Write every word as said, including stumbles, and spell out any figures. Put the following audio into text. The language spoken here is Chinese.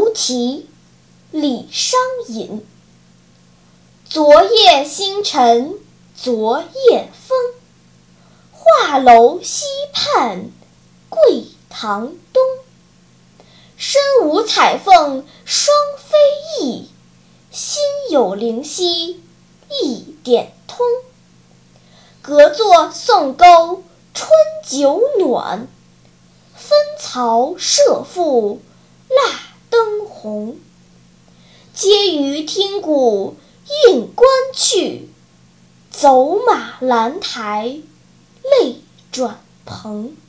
菩提，李商隐。昨夜星辰昨夜风，画楼西畔桂堂东。身无彩凤双飞翼，心有灵犀一点通。隔座送钩春酒暖，分曹射覆蜡灯红。皆于听鼓应官去，走马兰台泪转蓬。